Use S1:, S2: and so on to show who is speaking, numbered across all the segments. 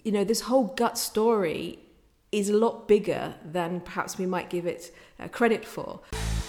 S1: this whole gut story is a lot bigger than perhaps we might give it credit for.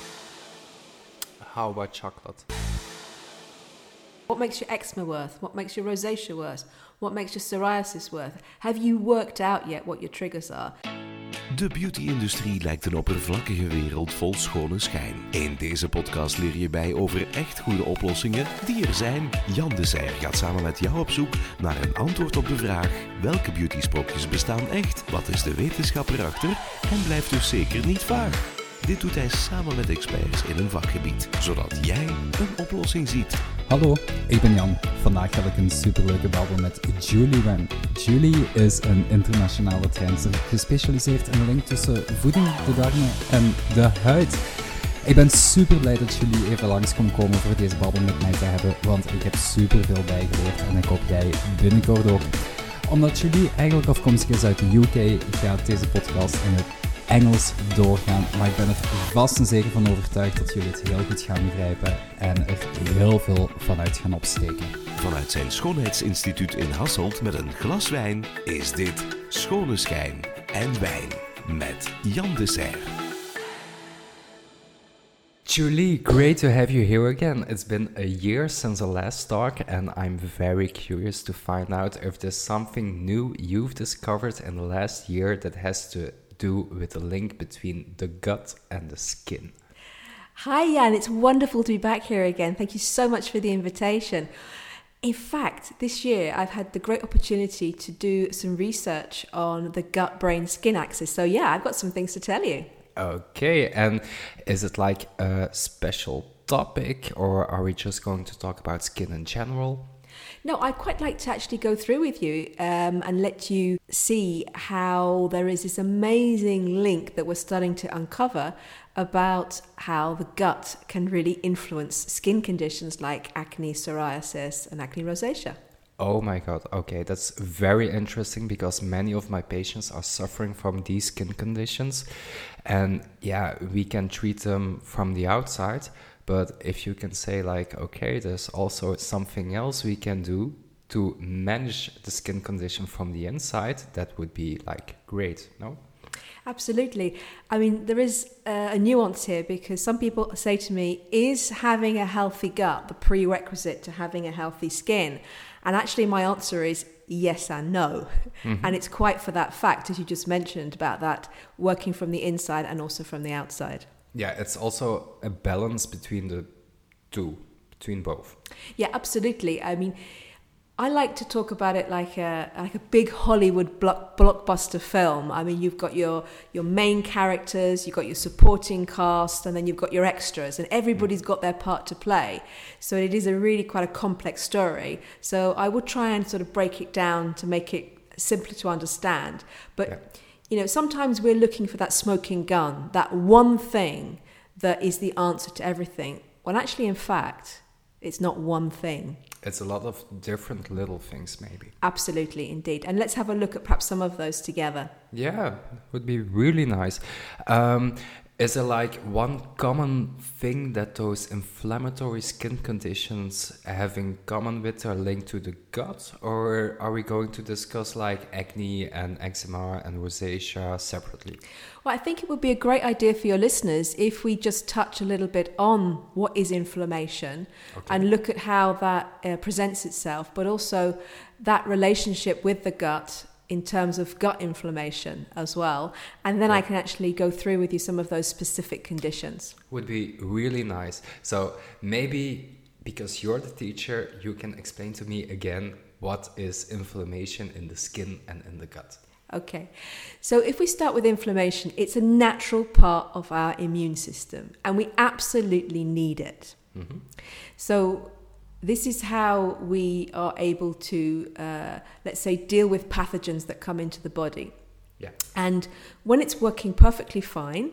S2: How about chocolate?
S1: What makes your eczema worse? What makes your rosacea worse? What makes your psoriasis worse? Have you worked out yet what your triggers are?
S3: De beauty-industrie lijkt een oppervlakkige wereld vol schone schijn. In deze podcast leer je bij over echt goede oplossingen die er zijn. Jan de Serre gaat samen met jou op zoek naar een antwoord op de vraag: welke beauty-sprookjes bestaan echt? Wat is de wetenschap erachter? En blijft dus zeker niet vaag. Dit doet hij samen met experts in een vakgebied, zodat jij een oplossing ziet.
S4: Hallo, ik ben Jan. Vandaag heb ik een superleuke babbel met Julie Wen. Julie is een internationale trainster, gespecialiseerd in de link tussen voeding, de darmen en de huid. Ik ben super blij dat Julie even langs kon komen voor deze babbel met mij te hebben, want ik heb super veel bijgeleerd en ik hoop jij binnenkort ook. Omdat Julie eigenlijk afkomstig is uit de UK, gaat deze podcast in het Engels doorgaan, maar ik ben er vast en zeker van overtuigd dat jullie het heel goed gaan begrijpen en er heel veel vanuit gaan opsteken.
S3: Vanuit zijn schoonheidsinstituut in Hasselt met een glas wijn is dit Schone Schijn en Wijn met Jan de Serre.
S2: Julie, great to have you here again. It's been a year since our last talk, and I'm very curious to find out if there's something new you've discovered in the last year that has to do with the link between the gut and the skin.
S1: Hi Jan, it's wonderful to be back here again. Thank you so much for the invitation. In fact, this year I've had the great opportunity to do some research on the gut-brain-skin axis. So yeah, I've got some things to tell you.
S2: Okay, and is it like a special topic, or are we just going to talk about skin in general?
S1: No, I'd quite like to actually go through with you and let you see how there is this amazing link that we're starting to uncover about how the gut can really influence skin conditions like acne, psoriasis, and acne rosacea.
S2: Oh my god, okay, that's very interesting because many of my patients are suffering from these skin conditions. And yeah, we can treat them from the outside. But if you can say like, okay, there's also something else we can do to manage the skin condition from the inside, that would be like great, no?
S1: Absolutely. I mean, there is a nuance here because some people say to me, is having a healthy gut the prerequisite to having a healthy skin? And actually my answer is yes and no. Mm-hmm. And it's quite for that fact, as you just mentioned, about that working from the inside and also from the outside.
S2: Yeah, it's also a balance between the two, between both.
S1: Yeah, absolutely. I mean, I like to talk about it like a big Hollywood blockbuster film. I mean, you've got your main characters, you've got your supporting cast, and then you've got your extras, and everybody's got their part to play. So it is quite a complex story. So I would try and sort of break it down to make it simpler to understand. But sometimes we're looking for that smoking gun, that one thing that is the answer to everything. When actually, in fact, it's not one thing.
S2: It's a lot of different little things, maybe.
S1: Absolutely, indeed. And let's have a look at perhaps some of those together.
S2: Yeah, would be really nice. Is there like one common thing that those inflammatory skin conditions have in common with or linked to the gut? Or are we going to discuss like acne and eczema and rosacea separately?
S1: Well, I think it would be a great idea for your listeners if we just touch a little bit on what is inflammation and look at how that presents itself, but also that relationship with the gut in terms of gut inflammation as well. And then I can actually go through with you some of those specific conditions.
S2: Would be really nice. So maybe because you're the teacher, you can explain to me again what is inflammation in the skin and in the gut.
S1: Okay, so if we start with inflammation, it's a natural part of our immune system and we absolutely need it. Mm-hmm. So this is how we are able to, let's say, deal with pathogens that come into the body.
S2: Yeah.
S1: And when it's working perfectly fine,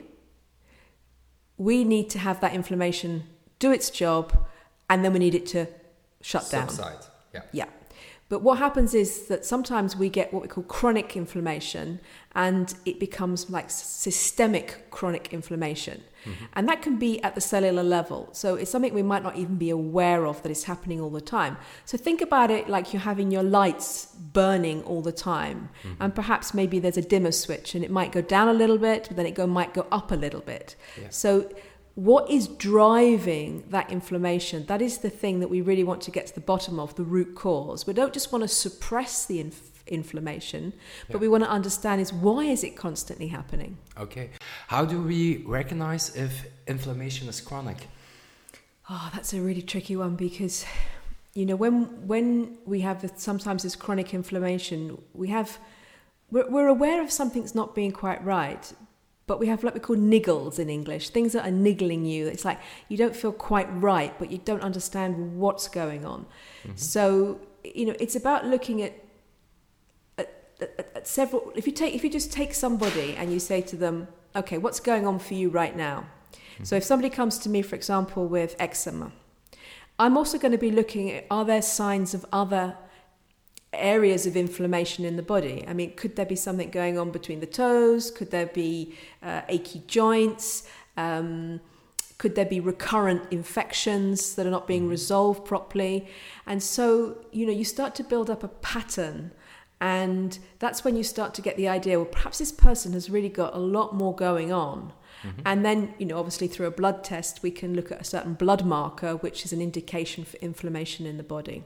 S1: we need to have that inflammation do its job, and then we need it to shut down.
S2: Subside. Yeah.
S1: Yeah. But what happens is that sometimes we get what we call chronic inflammation, and it becomes like systemic chronic inflammation. And that can be at the cellular level. So it's something we might not even be aware of that is happening all the time. So think about it like you're having your lights burning all the time. And perhaps maybe there's a dimmer switch and it might go down a little bit, but then it might go up a little bit. Yeah. So what is driving that inflammation? That is the thing that we really want to get to the bottom of, the root cause. We don't just want to suppress the inflammation, but we want to understand is why is it constantly happening?
S2: Okay. How do we recognize if inflammation is chronic?
S1: Oh, that's a really tricky one because, you know, when we have sometimes this chronic inflammation, we're aware of something's not being quite right, but we have what we call niggles in English, things that are niggling you. It's like you don't feel quite right, but you don't understand what's going on. So, you know, it's about looking at several. If you just take somebody and you say to them, okay, what's going on for you right now? So if somebody comes to me, for example, with eczema, I'm also going to be looking at, are there signs of other areas of inflammation in the body? I mean, could there be something going on between the toes? Could there be achy joints? Could there be recurrent infections that are not being resolved properly? And so, you know, you start to build up a pattern, and that's when you start to get the idea, well, perhaps this person has really got a lot more going on. And then, you know, obviously through a blood test, we can look at a certain blood marker, which is an indication for inflammation in the body.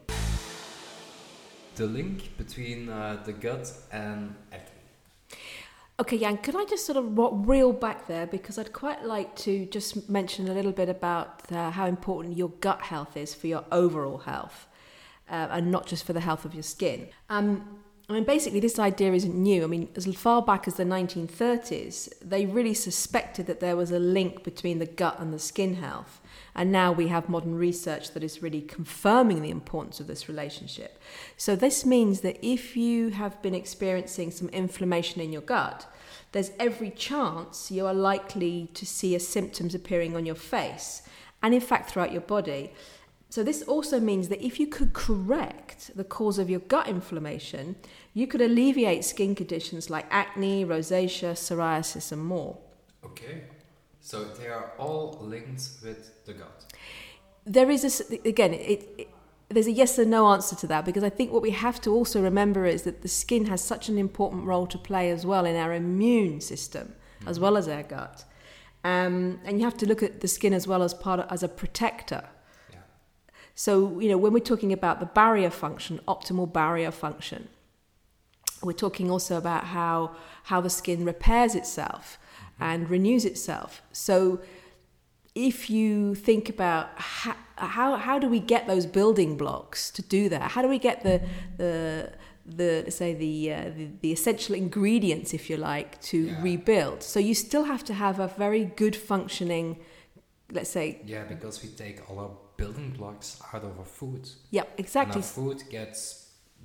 S2: The link between the gut and acne.
S1: Okay, Jan, could I just sort of reel back there, because I'd quite like to just mention a little bit about how important your gut health is for your overall health, and not just for the health of your skin. I mean, basically, this idea isn't new. I mean, as far back as the 1930s, they really suspected that there was a link between the gut and the skin health. And now we have modern research that is really confirming the importance of this relationship. So this means that if you have been experiencing some inflammation in your gut, there's every chance you are likely to see symptoms appearing on your face and, in fact, throughout your body. So this also means that if you could correct the cause of your gut inflammation, you could alleviate skin conditions like acne, rosacea, psoriasis, and more.
S2: Okay. So they are all linked with the gut.
S1: There is there's a yes and no answer to that, because I think what we have to also remember is that the skin has such an important role to play as well in our immune system, as well as our gut. And you have to look at the skin as well as a protector. So, you know, when we're talking about the barrier function, optimal barrier function, we're talking also about how the skin repairs itself and renews itself. So if you think about how do we get those building blocks to do that? How do we get the let's say the essential ingredients, if you like, to rebuild? So you still have to have a very good functioning, let's say...
S2: Yeah, because we take all our building blocks out of our food.
S1: Yeah, exactly.
S2: And our food gets,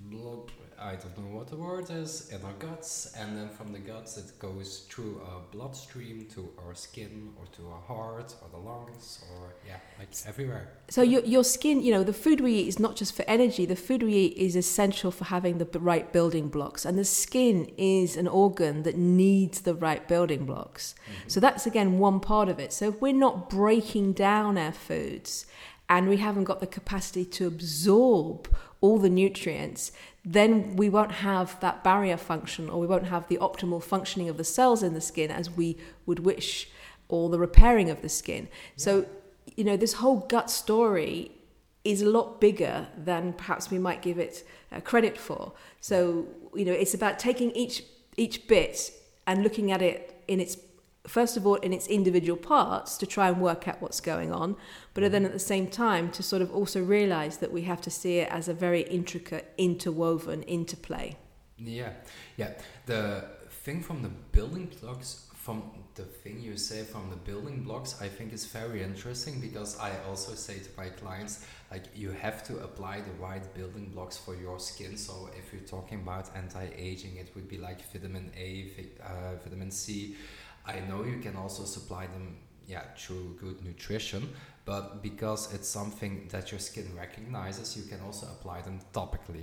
S2: I don't know what the word is, in our guts, and then from the guts it goes through our bloodstream to our skin or to our heart or the lungs or like everywhere.
S1: So your skin, you know, the food we eat is not just for energy. The food we eat is essential for having the right building blocks, and the skin is an organ that needs the right building blocks. So that's again one part of it. So if we're not breaking down our foods and we haven't got the capacity to absorb all the nutrients, then we won't have that barrier function, or we won't have the optimal functioning of the cells in the skin as we would wish, or the repairing of the skin. So, you know, this whole gut story is a lot bigger than perhaps we might give it credit for. So, you know, it's about taking each bit and looking at it in its, first of all, in its individual parts to try and work out what's going on, but then at the same time to sort of also realize that we have to see it as a very intricate, interwoven interplay.
S2: Yeah. The thing from the building blocks, from the thing you say from the building blocks, I think is very interesting, because I also say to my clients, like, you have to apply the right building blocks for your skin. So if you're talking about anti-aging, it would be like vitamin A, vitamin C. I know you can also supply them through good nutrition, but because it's something that your skin recognizes, you can also apply them topically.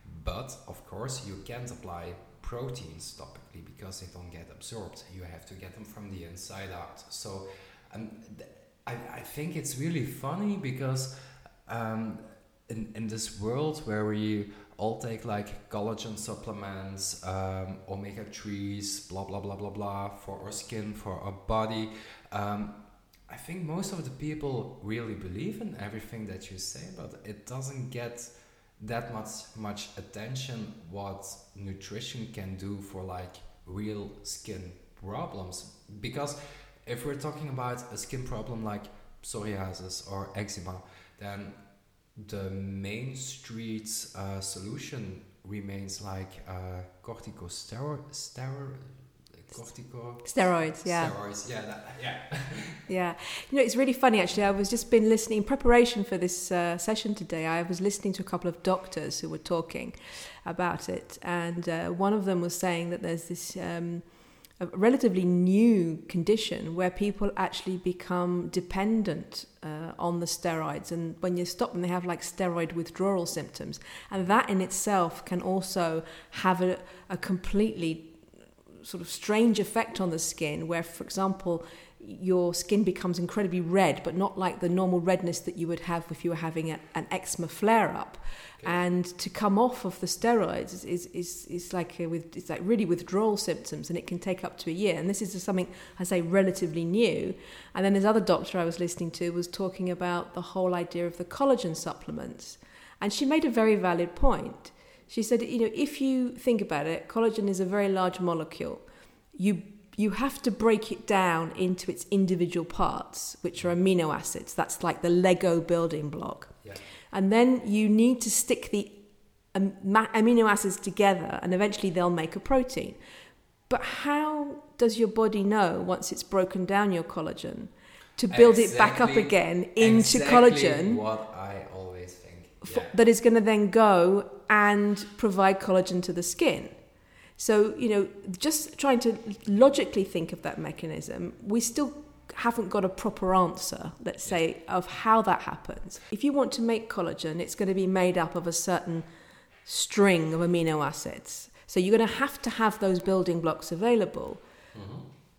S2: But of course, you can't apply proteins topically because they don't get absorbed. You have to get them from the inside out. So I think it's really funny because in this world where we all take like collagen supplements, omega-3s, blah, blah, blah, blah, blah, for our skin, for our body, I think most of the people really believe in everything that you say, but it doesn't get that much attention what nutrition can do for like real skin problems. Because if we're talking about a skin problem like psoriasis or eczema, then the main street solution remains like corticosteroids, yeah. Steroids,
S1: Yeah. You know, it's really funny actually. I was just been listening in preparation for this session today. I was listening to a couple of doctors who were talking about it, and one of them was saying that there's this a relatively new condition where people actually become dependent on the steroids, and when you stop them, they have like steroid withdrawal symptoms, and that in itself can also have a completely sort of strange effect on the skin, where, for example, your skin becomes incredibly red, but not like the normal redness that you would have if you were having an eczema flare-up. Okay. And to come off of the steroids is like it's like really withdrawal symptoms, and it can take up to a year. And this is something, I say, relatively new. And then this other doctor I was listening to was talking about the whole idea of the collagen supplements, and she made a very valid point. She said, you know, if you think about it, collagen is a very large molecule. You have to break it down into its individual parts, which are amino acids. That's like the Lego building block. Yeah. And then you need to stick the amino acids together, and eventually they'll make a protein. But how does your body know, once it's broken down your collagen, to build it back up again into collagen?
S2: What I always think. Yeah.
S1: That is going to then go and provide collagen to the skin. So, you know, just trying to logically think of that mechanism, we still haven't got a proper answer, let's say, of how that happens. If you want to make collagen, it's going to be made up of a certain string of amino acids. So you're going to have those building blocks available. Mm-hmm.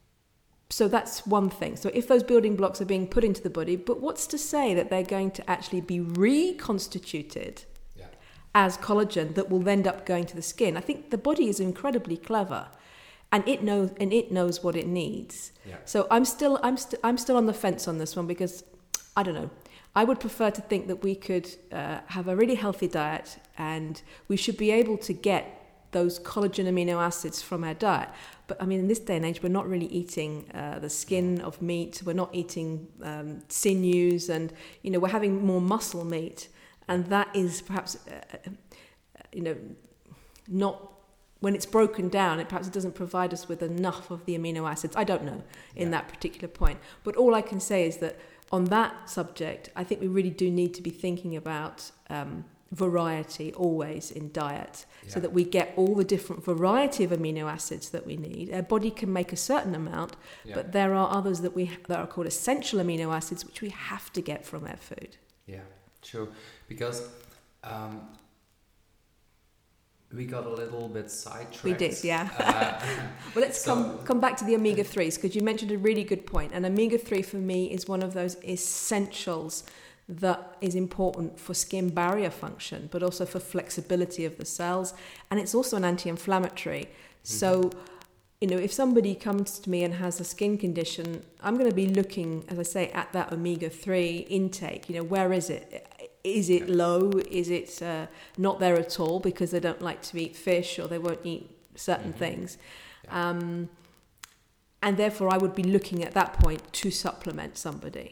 S1: So that's one thing. So if those building blocks are being put into the body, but what's to say that they're going to actually be reconstituted as collagen that will end up going to the skin? I think the body is incredibly clever, and it knows what it needs. Yeah. So I'm still on the fence on this one, because I don't know. I would prefer to think that we could have a really healthy diet, and we should be able to get those collagen amino acids from our diet. But I mean, in this day and age, we're not really eating the skin of meat. We're not eating sinews, and you know, we're having more muscle meat. And that is perhaps, not, when it's broken down, it doesn't provide us with enough of the amino acids. I don't know in that particular point. But all I can say is that on that subject, I think we really do need to be thinking about variety always in diet, so that we get all the different variety of amino acids that we need. Our body can make a certain amount, but there are others that are called essential amino acids, which we have to get from our food.
S2: Yeah. True, because we got a little bit sidetracked.
S1: We did, yeah. Well, let's come back to the omega-3s, because you mentioned a really good point. And omega-3 for me is one of those essentials that is important for skin barrier function, but also for flexibility of the cells. And it's also an anti-inflammatory. Mm-hmm. So, you know, if somebody comes to me and has a skin condition, I'm going to be looking, as I say, at that omega-3 intake. You know, where is it? Is it low? Is it not there at all because they don't like to eat fish, or they won't eat certain things? Yeah. And therefore, I would be looking at that point to supplement somebody.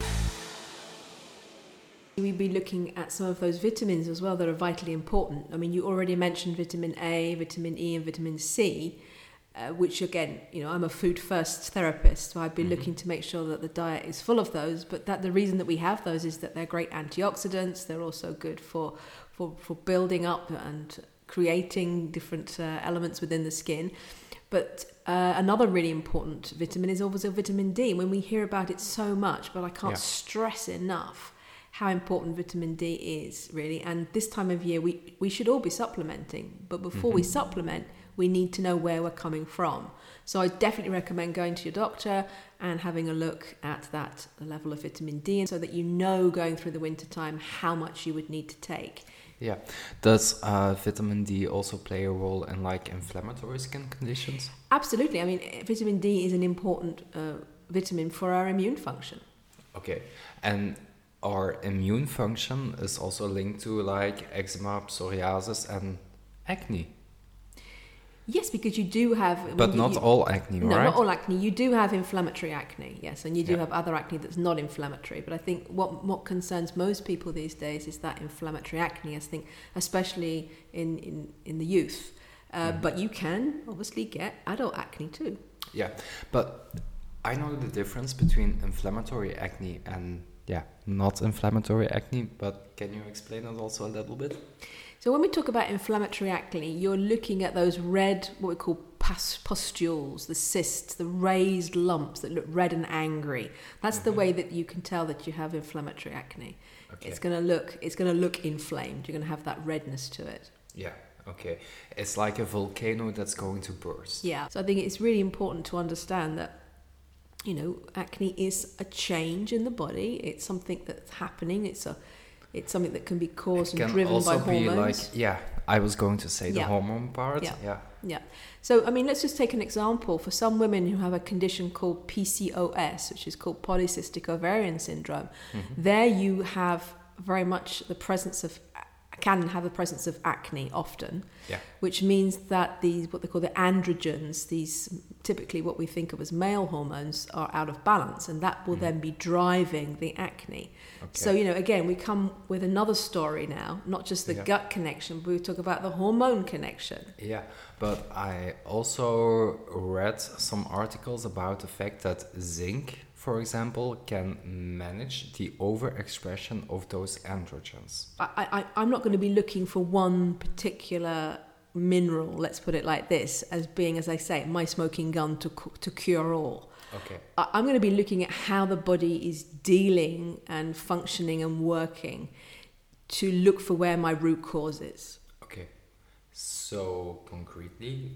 S1: We'd be looking at some of those vitamins as well that are vitally important. I mean, you already mentioned vitamin A, vitamin E, and vitamin C. Which again, you know, I'm a food first therapist, so I'd be looking to make sure that the diet is full of those. But that the reason that we have those is that they're great antioxidants. They're also good for building up and creating different elements within the skin. But another really important vitamin is also vitamin D. When we hear about it so much, but I can't stress enough how important vitamin D is, really. And this time of year, we should all be supplementing. But before we supplement, we need to know where we're coming from. So I definitely recommend going to your doctor and having a look at that level of vitamin D, and so that you know going through the winter time how much you would need to take.
S2: Yeah. Does vitamin D also play a role in like inflammatory skin conditions?
S1: Absolutely. I mean, vitamin D is an important vitamin for our immune function.
S2: Okay. And our immune function is also linked to like eczema, psoriasis, and acne.
S1: Yes, because you do have...
S2: But not all acne,
S1: no,
S2: right?
S1: not all acne. You do have inflammatory acne, yes, and you do
S2: Yeah.
S1: have other acne that's not inflammatory. But I think what concerns most people these days is that inflammatory acne, I think, especially in the youth. But you can obviously get adult acne too.
S2: Yeah, but I know the difference between inflammatory acne and not inflammatory acne, but can you explain it also a little bit?
S1: So when we talk about inflammatory acne, you're looking at those red, what we call pustules, the cysts, the raised lumps that look red and angry. That's the way that you can tell that you have inflammatory acne.
S2: Okay.
S1: It's going to look inflamed. You're going to have that redness to it.
S2: Yeah, okay. It's like a volcano that's going to burst.
S1: Yeah. So I think it's really important to understand that, acne is a change in the body. It's something that's happening. It's something that can be caused and driven by hormones.
S2: I was going to say the hormone part.
S1: Yeah. So, I mean, let's just take an example. For some women who have a condition called PCOS, which is called polycystic ovarian syndrome, there you have very much the presence of acne often, which means that what they call the androgens, these typically what we think of as male hormones, are out of balance, and that will then be driving the acne.
S2: Okay.
S1: So, again, we come with another story now, not just the gut connection, but we talk about the hormone connection.
S2: Yeah, but I also read some articles about the fact that zinc, for example, can manage the overexpression of those androgens.
S1: I'm not going to be looking for one particular mineral, let's put it like this, as being, as I say, my smoking gun to cure all.
S2: Okay.
S1: I'm going to be looking at how the body is dealing and functioning and working to look for where my root cause is.
S2: Okay. So, concretely,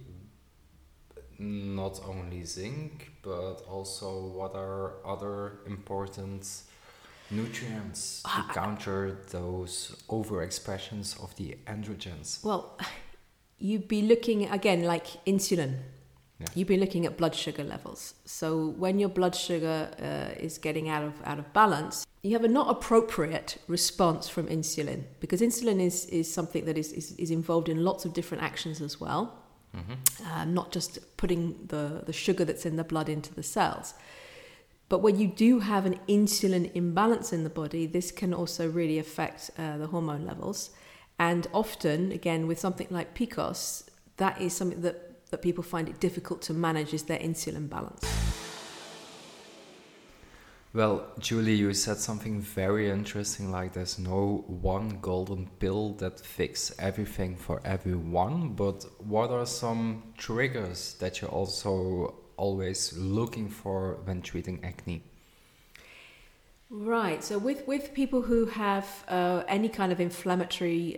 S2: not only zinc, but also what are other important nutrients to counter those overexpressions of the androgens?
S1: Well, you'd be looking, again, like insulin.
S2: Yeah.
S1: You'd be looking at blood sugar levels. So when your blood sugar is getting out of balance, you have a not appropriate response from insulin, because insulin is something that is involved in lots of different actions as well. Not just putting the sugar that's in the blood into the cells. But when you do have an insulin imbalance in the body, this can also really affect the hormone levels. And often, again, with something like PCOS, that is something that people find it difficult to manage, is their insulin balance.
S2: Well, Julie, you said something very interesting, like there's no one golden pill that fixes everything for everyone, but what are some triggers that you're also always looking for when treating acne?
S1: Right, so with people who have any kind of inflammatory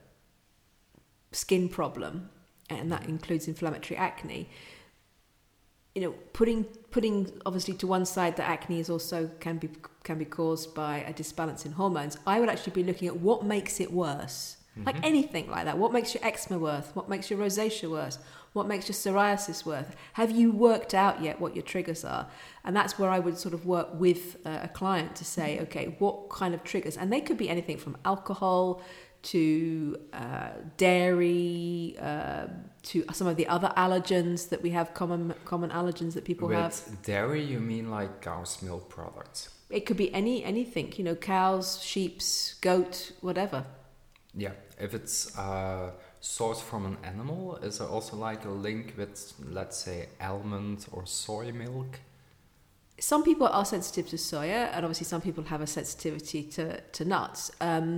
S1: skin problem, and that includes inflammatory acne, putting obviously to one side that acne is also can be caused by a disbalance in hormones, I would actually be looking at what makes it worse. Like anything like that. What makes your eczema worse? What makes your rosacea worse? What makes your psoriasis worse? Have you worked out yet what your triggers are? And that's where I would sort of work with a client to say, okay, what kind of triggers? And they could be anything from alcohol to dairy, to some of the other allergens that we have, common allergens that people have.
S2: With dairy, you mean like cow's milk products?
S1: It could be anything, cows, sheep, goat, whatever.
S2: Yeah, if it's sourced from an animal, is there also like a link with, let's say, almond or soy milk?
S1: Some people are sensitive to soya, and obviously some people have a sensitivity to nuts.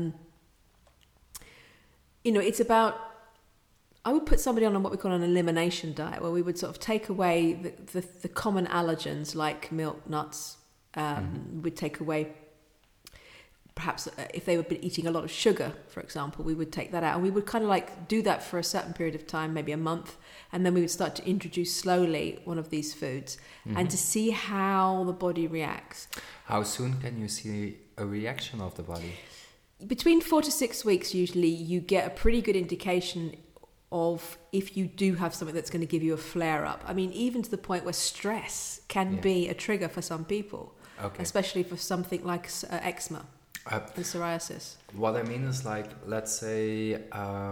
S1: It's about, I would put somebody on what we call an elimination diet, where we would sort of take away the common allergens like milk, nuts. We'd take away perhaps if they were eating a lot of sugar, for example, we would take that out, and we would kind of like do that for a certain period of time, maybe a month, and then we would start to introduce slowly one of these foods and to see how the body reacts.
S2: How soon can you see a reaction of the body?
S1: Between 4 to 6 weeks, usually, you get a pretty good indication of if you do have something that's going to give you a flare-up. I mean, even to the point where stress can be a trigger for some people, especially for something like eczema and psoriasis.
S2: What I mean is, like, let's say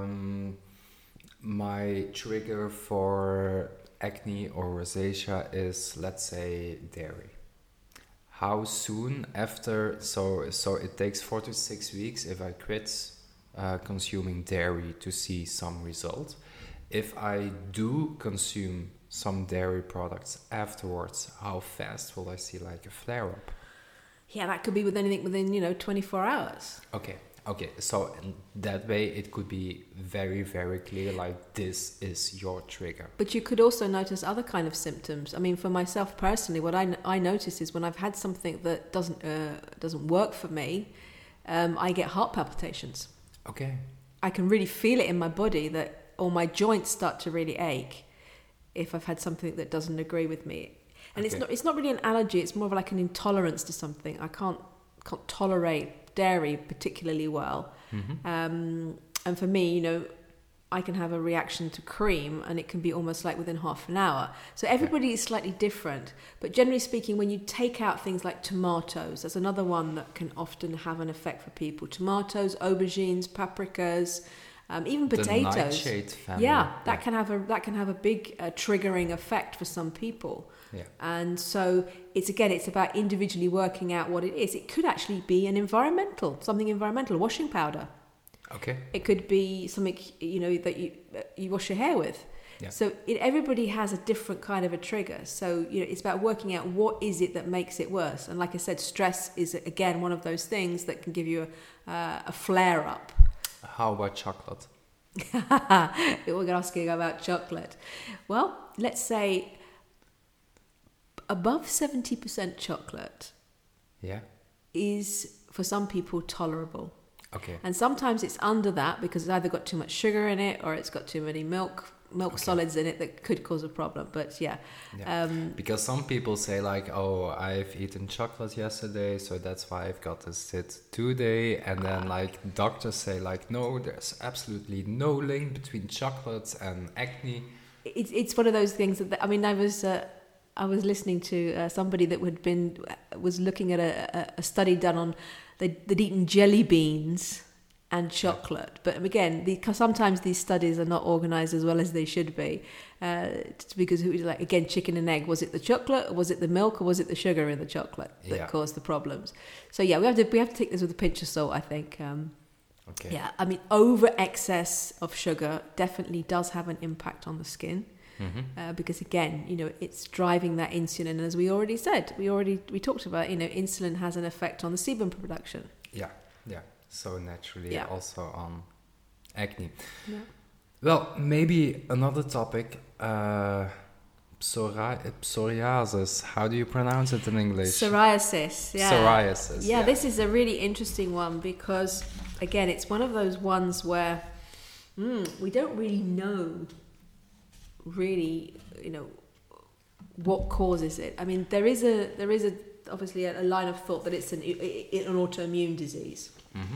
S2: my trigger for acne or rosacea is, let's say, dairy. How soon after, so it takes 4 to 6 weeks if I quit consuming dairy to see some result. If I do consume some dairy products afterwards, how fast will I see like a flare-up?
S1: Yeah, that could be within 24 hours.
S2: Okay. So in that way, it could be very, very clear, like this is your trigger.
S1: But you could also notice other kind of symptoms. I mean, for myself personally, what I notice is when I've had something that doesn't work for me, I get heart palpitations.
S2: Okay.
S1: I can really feel it in my body or my joints start to really ache if I've had something that doesn't agree with me. And it's not really an allergy, it's more of like an intolerance to something. I can't tolerate dairy particularly well. And for me, I can have a reaction to cream and it can be almost like within half an hour. So everybody is slightly different. But generally speaking, when you take out things like tomatoes, that's another one that can often have an effect for people. Tomatoes, aubergines, paprikas, even potatoes.
S2: The nightshade family.
S1: Yeah, that can have a big triggering effect for some people.
S2: Yeah.
S1: And so it's about individually working out what it is. It could actually be something environmental, washing powder.
S2: Okay.
S1: It could be something that you wash your hair with.
S2: Yeah.
S1: So everybody has a different kind of a trigger. So it's about working out what is it that makes it worse. And like I said, stress is again one of those things that can give you a flare up.
S2: How about chocolate?
S1: We're asking about chocolate. Well, let's say above 70% chocolate is for some people tolerable.
S2: Okay.
S1: And sometimes it's under that because it's either got too much sugar in it or it's got too many milk solids in it that could cause a problem. But because
S2: some people say like, oh, I've eaten chocolate yesterday, so that's why I've got this today. And then like doctors say like, no, there's absolutely no link between chocolate and acne.
S1: It's one of those things that I was listening to somebody that was looking at a study done on they'd eaten jelly beans and chocolate. But again, sometimes these studies are not organised as well as they should be, because it was like, again, chicken and egg. Was it the chocolate, or was it the milk, or was it the sugar in the chocolate that caused the problems? So we have to take this with a pinch of salt, I think.
S2: Okay.
S1: Yeah, I mean, over excess of sugar definitely does have an impact on the skin. Because again, it's driving that insulin, and as we already said, we talked about, insulin has an effect on the sebum production.
S2: Yeah. So naturally, also on acne.
S1: Yeah.
S2: Well, maybe another topic, psoriasis. How do you pronounce it in English?
S1: Psoriasis. Yeah.
S2: Psoriasis.
S1: Yeah, this is a really interesting one because, again, it's one of those ones where we don't really know. What causes it? I mean, there is obviously a line of thought that it's an autoimmune disease.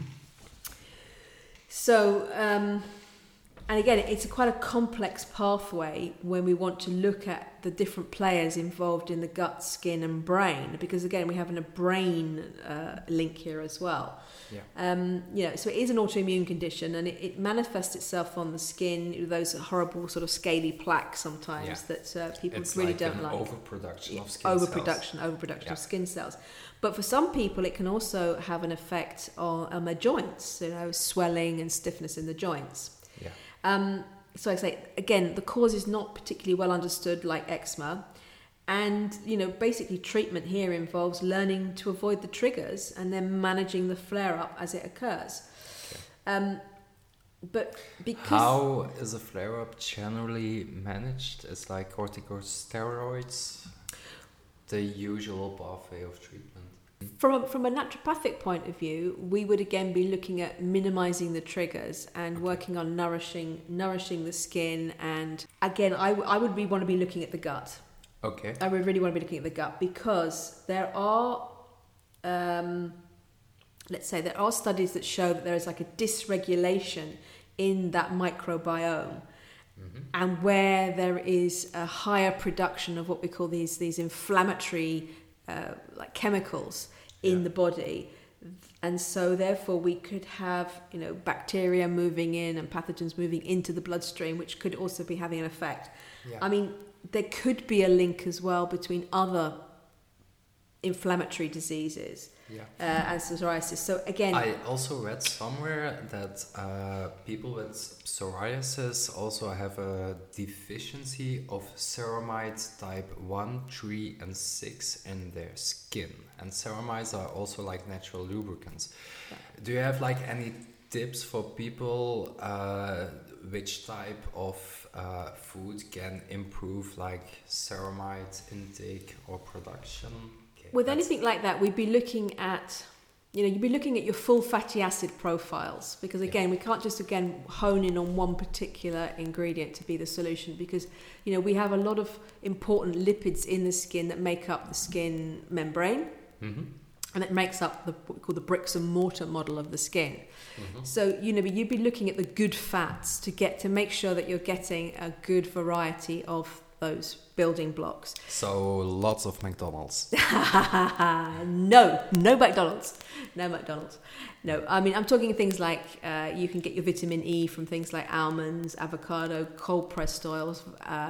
S1: So, and again, it's quite a complex pathway when we want to look at the different players involved in the gut, skin, and brain, because again, we have a brain link here as well. Yeah. So it is an autoimmune condition, and it manifests itself on the skin, those horrible sort of scaly plaques sometimes that people really don't like.
S2: Overproduction of skin cells.
S1: Overproduction of skin cells. But for some people, it can also have an effect on their joints, swelling and stiffness in the joints. Yeah. So I say, again, the cause is not particularly well understood, like eczema. And, basically treatment here involves learning to avoid the triggers and then managing the flare-up as it occurs. Okay. But because...
S2: How is a flare-up generally managed? It's like corticosteroids, the usual pathway of treatment.
S1: From a naturopathic point of view, we would again be looking at minimizing the triggers and working on nourishing the skin. And again, I would want to be looking at the gut.
S2: Okay.
S1: I would really want to be looking at the gut, because there are, let's say, there are studies that show that there is like a dysregulation in that microbiome. And where there is a higher production of what we call these inflammatory like chemicals in the body, and so therefore we could have bacteria moving in and pathogens moving into the bloodstream, which could also be having an effect. I mean, there could be a link as well between other inflammatory diseases and psoriasis. So again,
S2: I also read somewhere that people with psoriasis also have a deficiency of ceramides type 1, 3 and 6 in their skin, and ceramides are also like natural lubricants. Do you have like any tips for people which type of food can improve like ceramide intake or production?
S1: With anything like that, we'd be looking at, you'd be looking at your full fatty acid profiles, because again, we can't just hone in on one particular ingredient to be the solution, because we have a lot of important lipids in the skin that make up the skin membrane, and it makes up what we call the bricks and mortar model of the skin. So you'd be looking at the good fats to make sure that you're getting a good variety of those building blocks.
S2: So lots of McDonald's.
S1: No McDonald's. No, I mean, I'm talking things like you can get your vitamin E from things like almonds, avocado, cold pressed oils.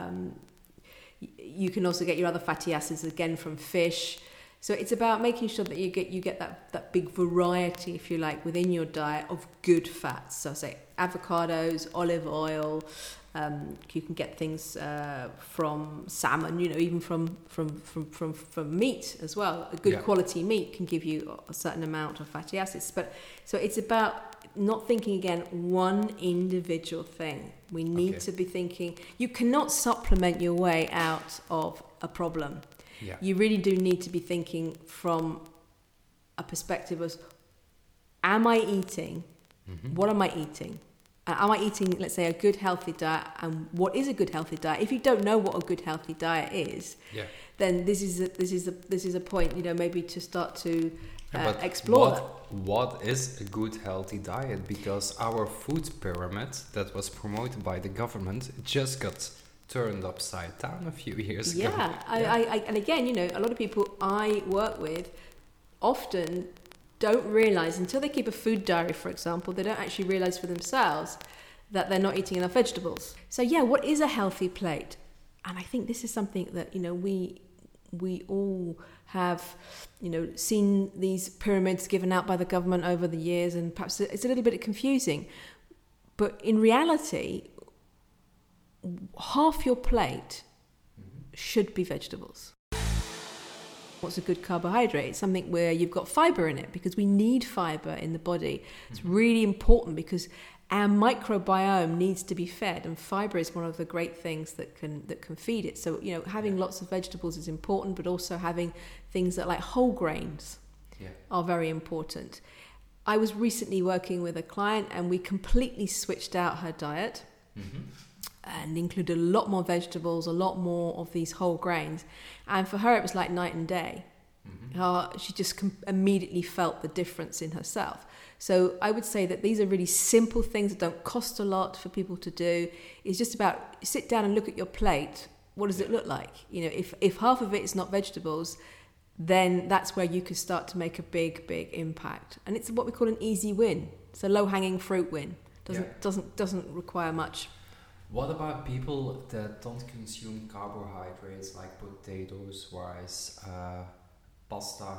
S1: You can also get your other fatty acids again from fish. So it's about making sure that you get that big variety, if you like, within your diet of good fats. So say avocados, olive oil. You can get things from salmon, even from meat as well. A good quality meat can give you a certain amount of fatty acids. But so it's about not thinking again one individual thing. We need to be thinking. You cannot supplement your way out of a problem. You really do need to be thinking from a perspective of, am I eating? What am I eating? Am I eating, let's say, a good healthy diet? And what is a good healthy diet? If you don't know what a good healthy diet is, then this is a point, maybe to start to explore that.
S2: What is a good healthy diet? Because our food pyramid that was promoted by the government just got turned upside down a few years ago.
S1: And again, a lot of people I work with often don't realise, until they keep a food diary, for example, they don't actually realise for themselves that they're not eating enough vegetables. So what is a healthy plate? And I think this is something that, we all have, seen these pyramids given out by the government over the years, and perhaps it's a little bit confusing. But in reality, half your plate should be vegetables. What's a good carbohydrate? It's something where you've got fibre in it, because we need fibre in the body. It's really important because our microbiome needs to be fed, and fibre is one of the great things that can feed it. So having lots of vegetables is important, but also having things that like whole grains are very important. I was recently working with a client, and we completely switched out her diet. And included a lot more vegetables, a lot more of these whole grains. And for her, it was like night and day. She just immediately felt the difference in herself. So I would say that these are really simple things that don't cost a lot for people to do. It's just about sit down and look at your plate. What does it look like? If half of it is not vegetables, then that's where you could start to make a big, big impact. And it's what we call an easy win. It's a low-hanging fruit win. Doesn't require much.
S2: What about people that don't consume carbohydrates like potatoes, rice, pasta,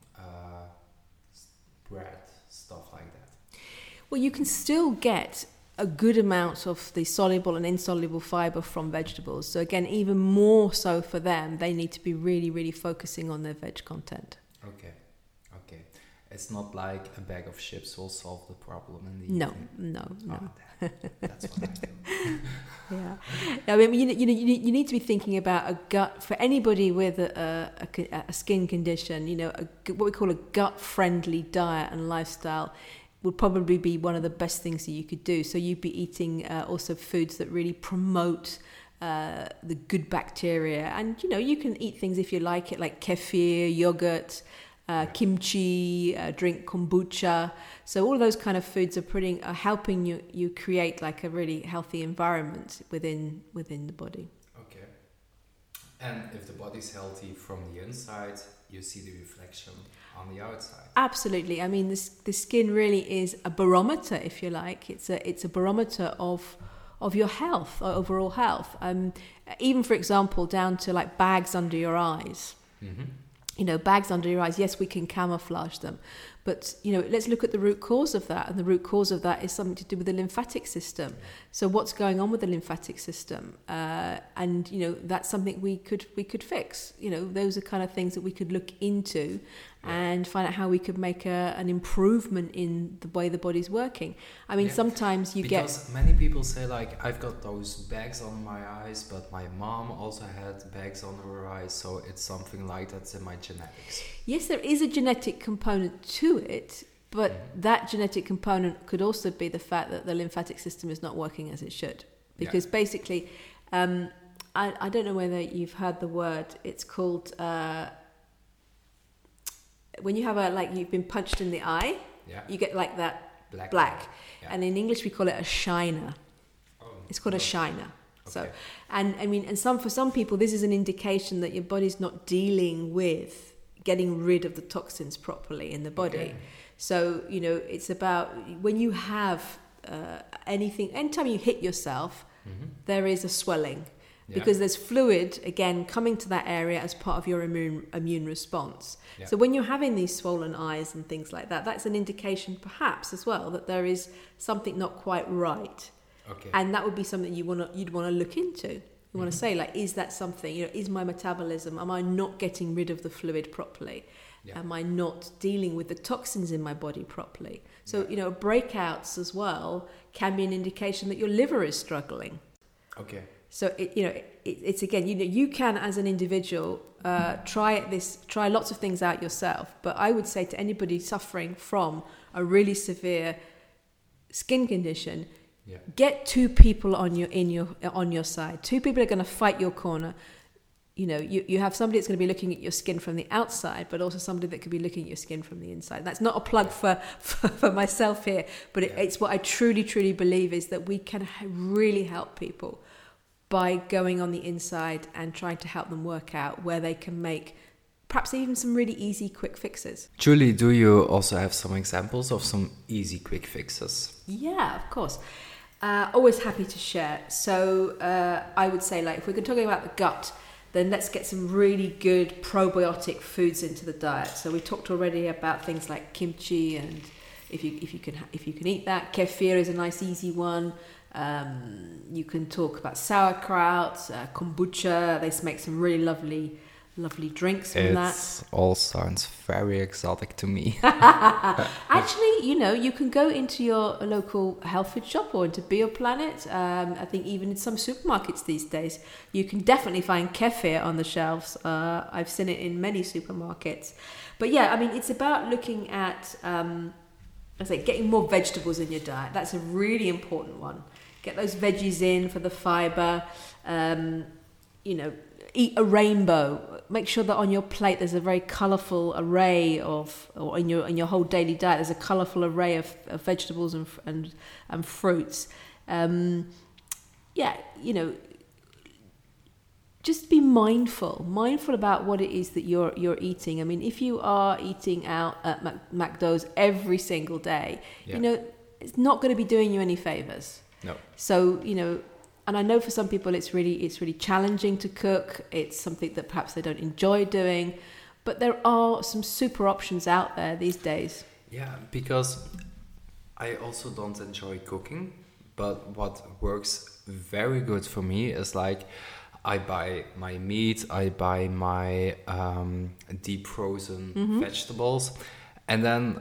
S2: bread, stuff like that?
S1: Well, you can still get a good amount of the soluble and insoluble fibre from vegetables. So again, even more so for them, they need to be really, really focusing on their veg content.
S2: Okay. It's not like a bag of chips will solve the problem in the
S1: No,
S2: evening.
S1: no.
S2: That's what I do.
S1: Yeah, I mean, you need to be thinking about a gut for anybody with a skin condition. What we call a gut-friendly diet and lifestyle would probably be one of the best things that you could do. So you'd be eating also foods that really promote the good bacteria, and you can eat things if you like it, like kefir, yogurt. Kimchi, drink kombucha. So all of those kind of foods are helping you create like a really healthy environment within the body.
S2: Okay. And if the body's healthy from the inside, you see the reflection on the outside.
S1: Absolutely. I mean, the skin really is a barometer, if you like. It's a barometer of your health, overall health. Even for example, down to like bags under your eyes. Mm-hmm. Bags under your eyes, yes, we can camouflage them. But, let's look at the root cause of that. And the root cause of that is something to do with the lymphatic system. So what's going on with the lymphatic system? And that's something we could fix. Those are kind of things that we could look into and find out how we could make an improvement in the way the body's working. I mean, sometimes
S2: because many people say, like, I've got those bags on my eyes, but my mom also had bags on her eyes, so it's something like that's in my genetics.
S1: Yes, there is a genetic component to it, but that genetic component could also be the fact that the lymphatic system is not working as it should. Because basically, I don't know whether you've heard the word, it's called... when you have you've been punched in the eye, you get like that black. Yeah. And in English we call it a shiner. It's called a shiner. Okay. So, and I mean, for some people, this is an indication that your body's not dealing with getting rid of the toxins properly in the body. Okay. So, it's about when you have anytime you hit yourself, there is a swelling. Because there's fluid, again, coming to that area as part of your immune response. Yeah. So when you're having these swollen eyes and things like that, that's an indication perhaps as well that there is something not quite right. Okay. And that would be something you'd want to look into. You want to say, like, is that something, is my metabolism, am I not getting rid of the fluid properly? Yeah. Am I not dealing with the toxins in my body properly? So, breakouts as well can be an indication that your liver is struggling.
S2: Okay.
S1: So it's again, you can as an individual try lots of things out yourself. But I would say to anybody suffering from a really severe skin condition, get two people on your side. Two people are going to fight your corner. You have somebody that's going to be looking at your skin from the outside, but also somebody that could be looking at your skin from the inside. That's not a plug for myself here, but it's what I truly, truly believe is that we can really help people by going on the inside and trying to help them work out where they can make perhaps even some really easy, quick fixes.
S2: Julie, do you also have some examples of some easy, quick fixes?
S1: Yeah, of course. Always happy to share. So I would say, like, if we're talking about the gut, then let's get some really good probiotic foods into the diet. So we talked already about things like kimchi, and if you can eat that. Kefir is a nice, easy one. You can talk about sauerkraut, kombucha. They make some really lovely drinks from that.
S2: It all sounds very exotic to me.
S1: Actually, you can go into your local health food shop or into BioPlanet. I think even in some supermarkets these days, you can definitely find kefir on the shelves. I've seen it in many supermarkets. But yeah, I mean, it's about looking at, getting more vegetables in your diet. That's a really important one. Get those veggies in for the fibre. Eat a rainbow. Make sure that on your plate there's a very colourful array or in your whole daily diet there's a colourful array of vegetables and fruits. Just be mindful about what it is that you're eating. I mean, if you are eating out at McDonald's every single day, it's not going to be doing you any favours.
S2: No.
S1: So, and I know for some people it's really challenging to cook. It's something that perhaps they don't enjoy doing, but there are some super options out there these days.
S2: Yeah, because I also don't enjoy cooking, but what works very good for me is like I buy my meat, I buy my deep frozen vegetables, And then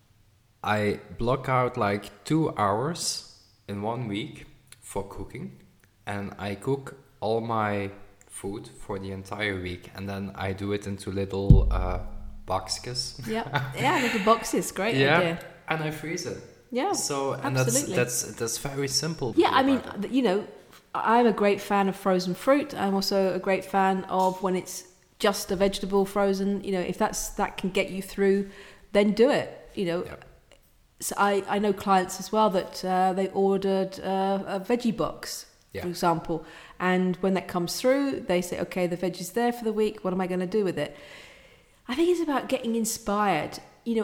S2: I block out like 2 hours in 1 week for cooking, and I cook all my food for the entire week, and then I do it into little boxes.
S1: Yeah, little boxes, great idea.
S2: And I freeze it.
S1: Yeah,
S2: so and
S1: absolutely.
S2: that's very simple.
S1: Yeah, I mean, I'm a great fan of frozen fruit. I'm also a great fan of when it's just a vegetable frozen. If that can get you through, then do it. So I know clients as well that they ordered a veggie box, for example, and when that comes through, they say, okay, the veg is there for the week. What am I going to do with it? I think it's about getting inspired.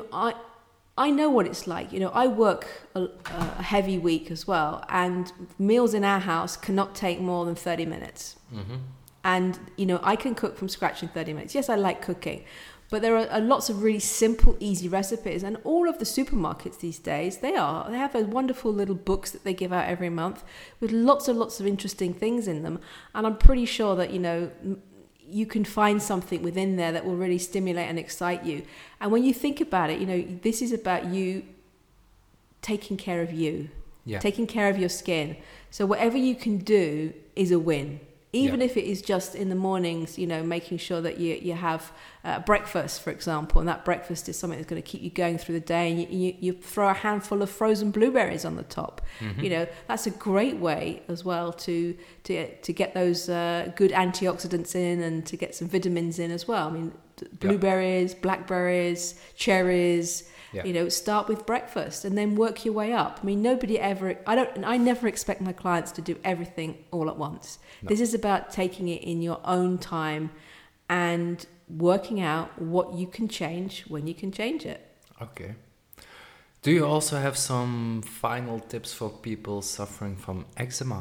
S1: I know what it's like. I work a heavy week as well, and meals in our house cannot take more than 30 minutes. Mm-hmm. And, I can cook from scratch in 30 minutes. Yes, I like cooking, but there are lots of really simple, easy recipes. And all of the supermarkets these days, they have those wonderful little books that they give out every month with lots of interesting things in them. And I'm pretty sure that, you can find something within there that will really stimulate and excite you. And when you think about it, this is about you taking care of you, taking care of your skin. So whatever you can do is a win. Even if it is just in the mornings, making sure that you have breakfast, for example, and that breakfast is something that's going to keep you going through the day, and you throw a handful of frozen blueberries on the top. Mm-hmm. That's a great way as well to get those good antioxidants in and to get some vitamins in as well. I mean, blueberries, blackberries, cherries. Start with breakfast and then work your way up. I mean, I never expect my clients to do everything all at once. No. This is about taking it in your own time and working out what you can change when you can change it.
S2: Okay. Do you also have some final tips for people suffering from eczema?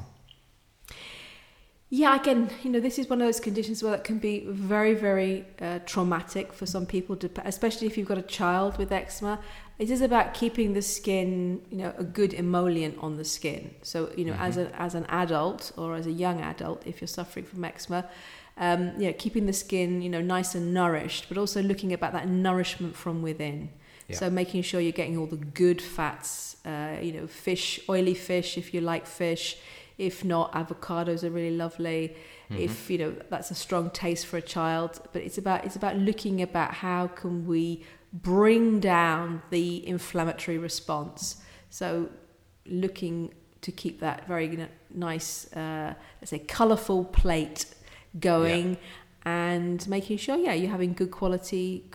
S1: Yeah, again, this is one of those conditions where that can be very, very traumatic for some people, especially if you've got a child with eczema. It is about keeping the skin, a good emollient on the skin. So, as an adult or as a young adult, if you're suffering from eczema, keeping the skin, nice and nourished, but also looking about that nourishment from within. Yeah. So making sure you're getting all the good fats, fish, oily fish, if you like fish. If not, avocados are really lovely. Mm-hmm. If that's a strong taste for a child, but it's about looking about how can we bring down the inflammatory response. So looking to keep that very nice, let's say, colourful plate going, and making sure you're having good quality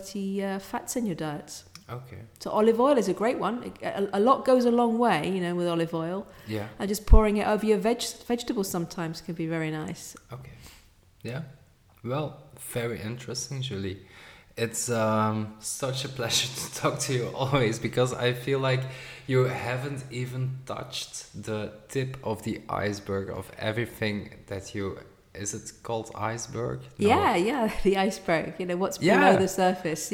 S1: fats in your diets.
S2: Okay.
S1: So olive oil is a great one. A lot goes a long way, with olive oil.
S2: Yeah.
S1: And just pouring it over your vegetables sometimes can be very nice.
S2: Okay. Yeah. Well, very interesting, Julie. It's such a pleasure to talk to you always, because I feel like you haven't even touched the tip of the iceberg of everything that you... Is it called iceberg? No.
S1: Yeah, the iceberg. What's below the surface.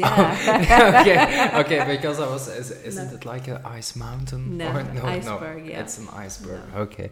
S1: Yeah.
S2: Okay. Because I was. Isn't it like an ice mountain?
S1: No, iceberg.
S2: No,
S1: yeah,
S2: it's an iceberg.
S1: No.
S2: Okay.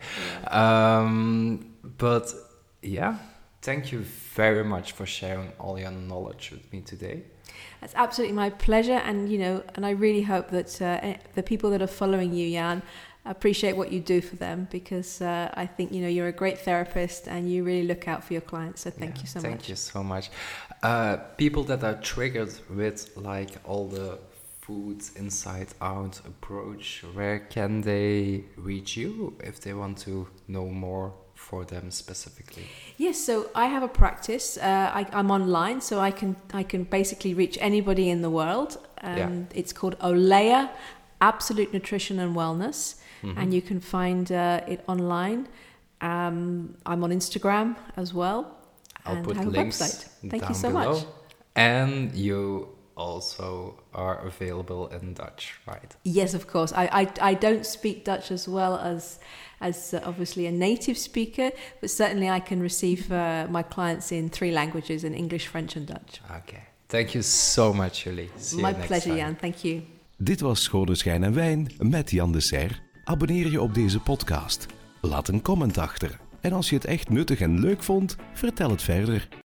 S2: Yeah. But thank you very much for sharing all your knowledge with me today.
S1: That's absolutely my pleasure, and and I really hope that the people that are following you, Jan, appreciate what you do for them, because I think you're a great therapist and you really look out for your clients. So thank you so much.
S2: Thank you so much. People that are triggered with like all the food inside out approach, where can they reach you if they want to know more for them specifically?
S1: Yes, so I have a practice. I'm online, so I can basically reach anybody in the world. It's called Olea Absolute Nutrition and Wellness. Mm-hmm. And you can find it online. I'm on Instagram as well.
S2: I'll put links
S1: Thank you so
S2: below.
S1: much.
S2: And you also are available in Dutch, right?
S1: Yes, of course. I don't speak Dutch as well as obviously a native speaker, but certainly I can receive my clients in 3 languages, in English, French and Dutch.
S2: Okay. Thank you so much, Julie. See you
S1: My
S2: next
S1: pleasure,
S2: time.
S1: Jan. Thank you.
S3: Dit was Schone Schijn en Wijn met Jan de Serre. Abonneer je op deze podcast. Laat een comment achter. En als je het echt nuttig en leuk vond, vertel het verder.